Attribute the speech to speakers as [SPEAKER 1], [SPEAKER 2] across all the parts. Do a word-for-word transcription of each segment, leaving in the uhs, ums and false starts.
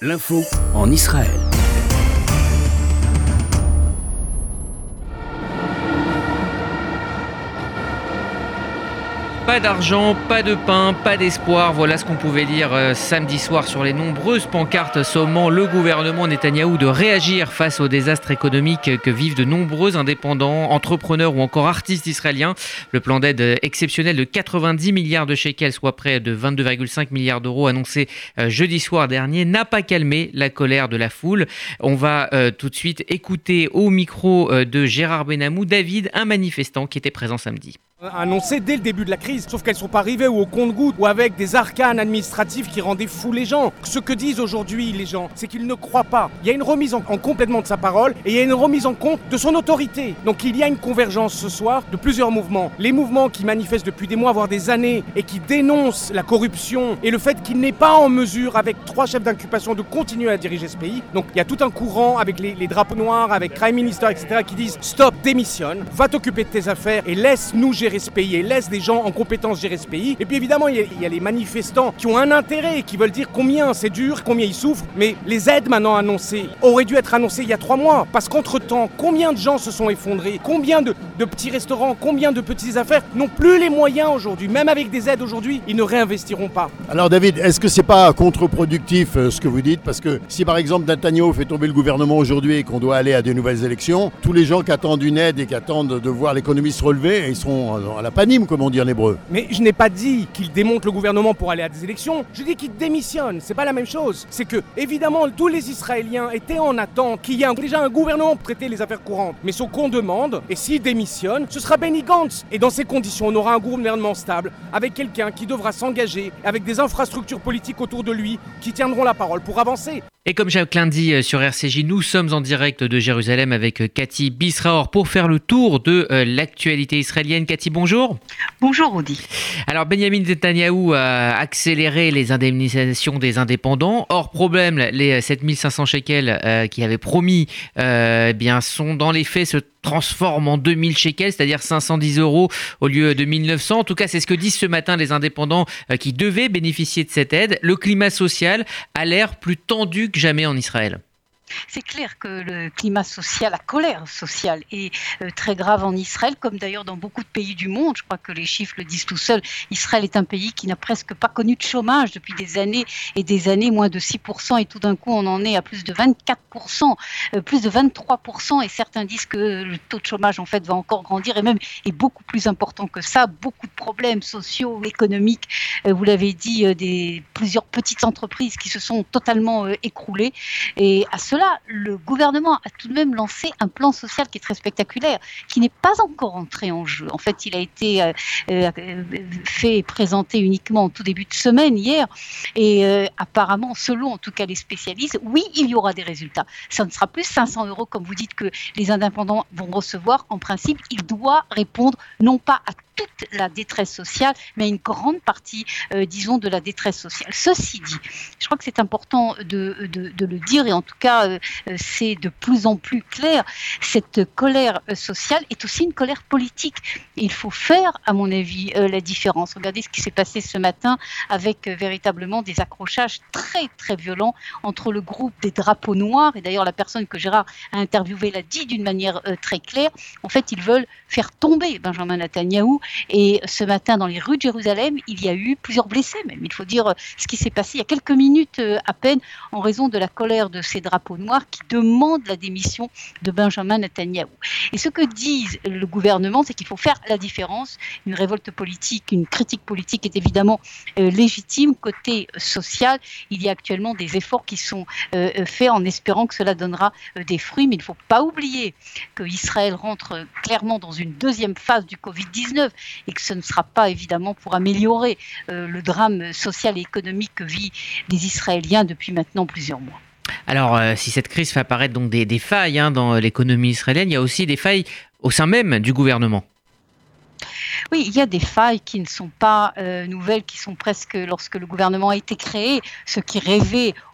[SPEAKER 1] L'info en Israël.
[SPEAKER 2] Pas d'argent, pas de pain, pas d'espoir. Voilà ce qu'on pouvait lire euh, samedi soir sur les nombreuses pancartes sommant le gouvernement Netanyahou de réagir face au désastre économique que vivent de nombreux indépendants, entrepreneurs ou encore artistes israéliens. Le plan d'aide exceptionnel de quatre-vingt-dix milliards de shekels, soit près de vingt-deux virgule cinq milliards d'euros annoncé euh, jeudi soir dernier, n'a pas calmé la colère de la foule. On va euh, tout de suite écouter au micro euh, de Gérard Benamou, David, un manifestant qui était présent samedi.
[SPEAKER 3] Annoncé dès le début de la crise, sauf qu'elles ne sont pas arrivées ou au compte-gouttes ou avec des arcanes administratifs qui rendaient fous les gens. Ce que disent aujourd'hui les gens, c'est qu'ils ne croient pas. Il y a une remise en, en complètement de sa parole et il y a une remise en compte de son autorité. Donc il y a une convergence ce soir de plusieurs mouvements. Les mouvements qui manifestent depuis des mois, voire des années, et qui dénoncent la corruption et le fait qu'il n'est pas en mesure, avec trois chefs d'inculpation, de continuer à diriger ce pays. Donc il y a tout un courant avec les, les drapeaux noirs, avec Prime Minister, et cetera, qui disent « Stop, démissionne, va t'occuper de tes affaires et laisse-nous gérer ce pays et laisse des gens en compétence gérer ce pays. » Et puis évidemment, il y, a, il y a les manifestants qui ont un intérêt, qui veulent dire combien c'est dur, combien ils souffrent. Mais les aides maintenant annoncées auraient dû être annoncées il y a trois mois. Parce qu'entre-temps, combien de gens se sont effondrés? Combien de, de petits restaurants, combien de petites affaires n'ont plus les moyens aujourd'hui? Même avec des aides aujourd'hui, ils ne réinvestiront pas.
[SPEAKER 4] Alors David, est-ce que c'est pas contre-productif euh, ce que vous dites? Parce que si par exemple Netanyahou fait tomber le gouvernement aujourd'hui et qu'on doit aller à de nouvelles élections, tous les gens qui attendent une aide et qui attendent de voir l'économie se relever, ils seront à la panime, comme on dit en hébreu.
[SPEAKER 3] Mais je n'ai pas dit qu'il démonte le gouvernement pour aller à des élections, je dis qu'il démissionne, c'est pas la même chose. C'est que, évidemment, tous les Israéliens étaient en attente qu'il y ait un, déjà un gouvernement pour traiter les affaires courantes. Mais ce qu'on demande, et s'il démissionne, ce sera Benny Gantz. Et dans ces conditions, on aura un gouvernement stable, avec quelqu'un qui devra s'engager, avec des infrastructures politiques autour de lui, qui tiendront la parole pour avancer.
[SPEAKER 2] Et comme Jacqueline dit sur R C J, nous sommes en direct de Jérusalem avec Cathy Bisraor pour faire le tour de euh, l'actualité israélienne. Cathy, bonjour.
[SPEAKER 5] Bonjour Audi.
[SPEAKER 2] Alors Benjamin Netanyahou a accéléré les indemnisations des indépendants. Hors problème, les sept mille cinq cents shekels euh, qu'il avait promis euh, eh bien, sont dans les faits se transforment en deux mille shekels, c'est-à-dire cinq cent dix euros au lieu de mille neuf cents. En tout cas, c'est ce que disent ce matin les indépendants euh, qui devaient bénéficier de cette aide. Le climat social a l'air plus tendu que jamais en Israël.
[SPEAKER 5] C'est clair que le climat social, la colère sociale est euh, très grave en Israël, comme d'ailleurs dans beaucoup de pays du monde. Je crois que les chiffres le disent tout seuls. Israël est un pays qui n'a presque pas connu de chômage depuis des années et des années, moins de six pour cent. Et tout d'un coup, on en est à plus de vingt-quatre pour cent, euh, plus de vingt-trois pour cent. Et certains disent que le taux de chômage, en fait, va encore grandir et même est beaucoup plus important que ça. Beaucoup de problèmes sociaux, économiques. Euh, vous l'avez dit, euh, des, plusieurs petites entreprises qui se sont totalement euh, écroulées. Et à cela, le gouvernement a tout de même lancé un plan social qui est très spectaculaire, qui n'est pas encore entré en jeu. En fait, il a été euh, euh, fait et présenté uniquement en tout début de semaine, hier, et euh, apparemment, selon en tout cas les spécialistes, oui, il y aura des résultats. Ça ne sera plus cinq cents euros, comme vous dites, que les indépendants vont recevoir. En principe, il doit répondre non pas à toute la détresse sociale, mais une grande partie, euh, disons, de la détresse sociale. Ceci dit, je crois que c'est important de, de, de le dire, et en tout cas, euh, c'est de plus en plus clair, cette colère sociale est aussi une colère politique. Et il faut faire, à mon avis, euh, la différence. Regardez ce qui s'est passé ce matin avec euh, véritablement des accrochages très, très violents entre le groupe des drapeaux noirs, et d'ailleurs la personne que Gérard a interviewée l'a dit d'une manière euh, très claire. En fait, ils veulent faire tomber Benjamin Netanyahou. Et ce matin, dans les rues de Jérusalem, il y a eu plusieurs blessés même. Il faut dire ce qui s'est passé il y a quelques minutes à peine en raison de la colère de ces drapeaux noirs qui demandent la démission de Benjamin Netanyahou. Et ce que disent le gouvernement, c'est qu'il faut faire la différence. Une révolte politique, une critique politique est évidemment euh, légitime. Côté social, il y a actuellement des efforts qui sont euh, faits en espérant que cela donnera euh, des fruits. Mais il ne faut pas oublier qu'Israël rentre clairement dans une deuxième phase du covid dix-neuf. Et que ce ne sera pas évidemment pour améliorer euh, le drame social et économique que vivent les Israéliens depuis maintenant plusieurs mois.
[SPEAKER 2] Alors, euh, si cette crise fait apparaître donc des, des failles hein, dans l'économie israélienne, il y a aussi des failles au sein même du gouvernement.
[SPEAKER 5] Oui, il y a des failles qui ne sont pas euh, nouvelles, qui sont presque, lorsque le gouvernement a été créé, ceux qui rêvaient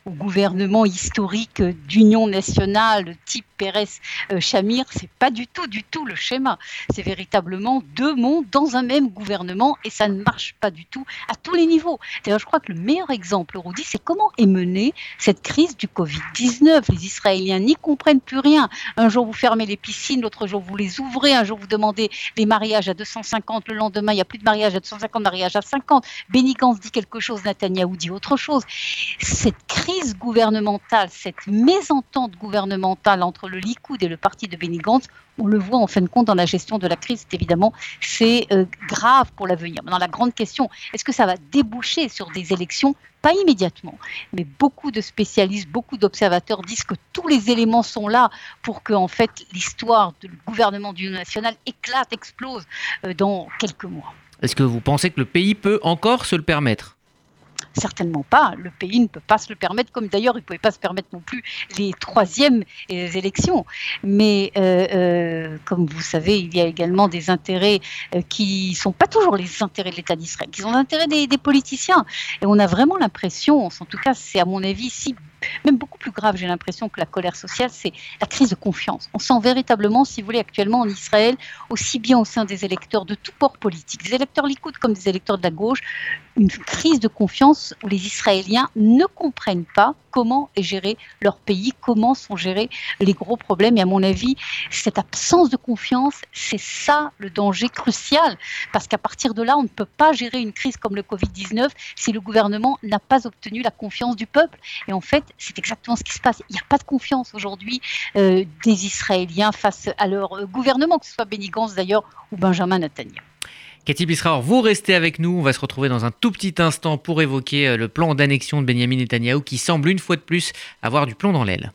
[SPEAKER 5] au gouvernement historique d'union nationale type Pérez-Chamir, c'est pas du tout, du tout le schéma. C'est véritablement deux mondes dans un même gouvernement et ça ne marche pas du tout à tous les niveaux. D'ailleurs, je crois que le meilleur exemple, Rudy, c'est comment est menée cette crise du covid dix-neuf. Les Israéliens n'y comprennent plus rien. Un jour, vous fermez les piscines, l'autre jour, vous les ouvrez. Un jour, vous demandez les mariages à deux cent cinquante. Le lendemain, il n'y a plus de mariage à deux cent cinquante, mariage à cinquante. Benny Gantz dit quelque chose, Netanyahou dit autre chose. Cette crise gouvernementale, cette mésentente gouvernementale entre le Likoud et le parti de Benny Gantz, on le voit en fin de compte dans la gestion de la crise, évidemment, c'est euh, grave pour l'avenir. Maintenant, la grande question, est-ce que ça va déboucher sur des élections? Pas immédiatement, mais beaucoup de spécialistes, beaucoup d'observateurs disent que tous les éléments sont là pour que, en fait, l'histoire du gouvernement d'union nationale éclate, explose euh, dans quelques mois.
[SPEAKER 2] Est-ce que vous pensez que le pays peut encore se le permettre ?
[SPEAKER 5] Certainement pas. Le pays ne peut pas se le permettre, comme d'ailleurs il ne pouvait pas se permettre non plus les troisièmes élections. Mais euh, euh, comme vous savez, il y a également des intérêts euh, qui ne sont pas toujours les intérêts de l'État d'Israël, qui sont les intérêts des, des politiciens. Et on a vraiment l'impression, en tout cas c'est à mon avis ici, même beaucoup plus grave, j'ai l'impression, que la colère sociale, c'est la crise de confiance. On sent véritablement, si vous voulez, actuellement en Israël, aussi bien au sein des électeurs de tout bord politique, des électeurs Likoud comme des électeurs de la gauche, une crise de confiance où les Israéliens ne comprennent pas comment est géré leur pays, comment sont gérés les gros problèmes. Et à mon avis, cette absence de confiance, c'est ça le danger crucial. Parce qu'à partir de là, on ne peut pas gérer une crise comme le covid dix-neuf si le gouvernement n'a pas obtenu la confiance du peuple. Et en fait, c'est exactement ce qui se passe. Il n'y a pas de confiance aujourd'hui euh, des Israéliens face à leur euh, gouvernement, que ce soit Benny Gantz d'ailleurs ou Benjamin Netanyahou.
[SPEAKER 2] Cathy Bisraor, vous restez avec nous. On va se retrouver dans un tout petit instant pour évoquer le plan d'annexion de Benyamin Netanyahou qui semble une fois de plus avoir du plomb dans l'aile.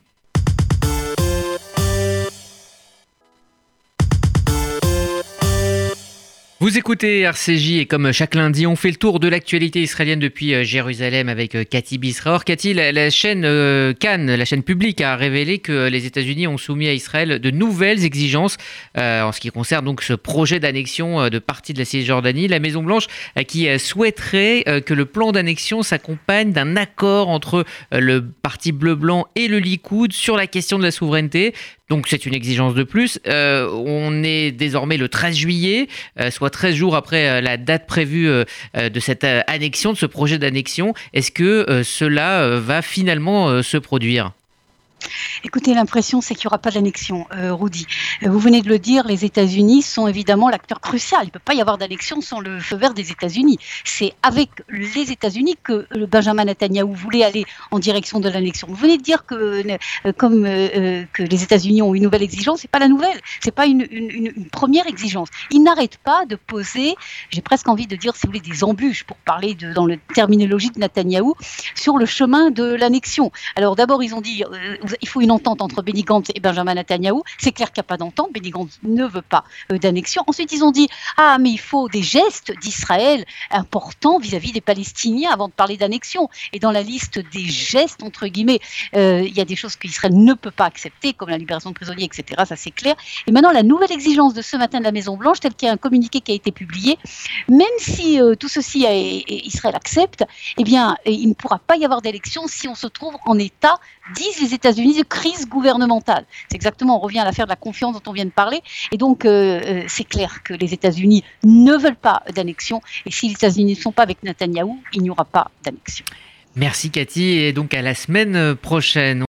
[SPEAKER 2] Vous écoutez R C J et comme chaque lundi, on fait le tour de l'actualité israélienne depuis Jérusalem avec Cathy Bisraor. Cathy, la, la chaîne euh, Cannes, la chaîne publique, a révélé que les États-Unis ont soumis à Israël de nouvelles exigences euh, en ce qui concerne donc ce projet d'annexion de partie de la Cisjordanie. La Maison-Blanche euh, qui euh, souhaiterait euh, que le plan d'annexion s'accompagne d'un accord entre euh, le parti bleu-blanc et le Likoud sur la question de la souveraineté. Donc c'est une exigence de plus. Euh, on est désormais le treize juillet, euh, soit treize jours après euh, la date prévue euh, de cette euh, annexion, de ce projet d'annexion. Est-ce que euh, cela euh, va finalement euh, se produire ?
[SPEAKER 5] Écoutez, l'impression, c'est qu'il n'y aura pas d'annexion, euh, Rudy. Vous venez de le dire, les États-Unis sont évidemment l'acteur crucial. Il ne peut pas y avoir d'annexion sans le feu vert des États-Unis. C'est avec les États-Unis que le Benjamin Netanyahou voulait aller en direction de l'annexion. Vous venez de dire que, euh, comme euh, que les États-Unis ont une nouvelle exigence, c'est pas la nouvelle, c'est pas une, une, une première exigence. Ils n'arrêtent pas de poser, j'ai presque envie de dire, si vous voulez, des embûches pour parler de, dans la terminologie de Netanyahou, sur le chemin de l'annexion. Alors d'abord, ils ont dit, euh, il faut une entente entre Benny Gantz et Benjamin Netanyahou. C'est clair qu'il n'y a pas d'entente. Benny Gantz ne veut pas euh, d'annexion. Ensuite, ils ont dit ah, mais il faut des gestes d'Israël importants vis-à-vis des Palestiniens avant de parler d'annexion. Et dans la liste des gestes, entre guillemets, euh, il y a des choses qu'Israël ne peut pas accepter, comme la libération de prisonniers, et cetera. Ça, c'est clair. Et maintenant, la nouvelle exigence de ce matin de la Maison-Blanche, telle qu'il y a un communiqué qui a été publié, même si euh, tout ceci, a, et Israël accepte, eh bien, il ne pourra pas y avoir d'élection si on se trouve en état, disent les États-Unis, de crise gouvernementale. C'est exactement, on revient à l'affaire de la confiance dont on vient de parler. Et donc, euh, c'est clair que les États-Unis ne veulent pas d'annexion. Et si les États-Unis ne sont pas avec Netanyahou, il n'y aura pas d'annexion.
[SPEAKER 2] Merci Cathy, et donc à la semaine prochaine.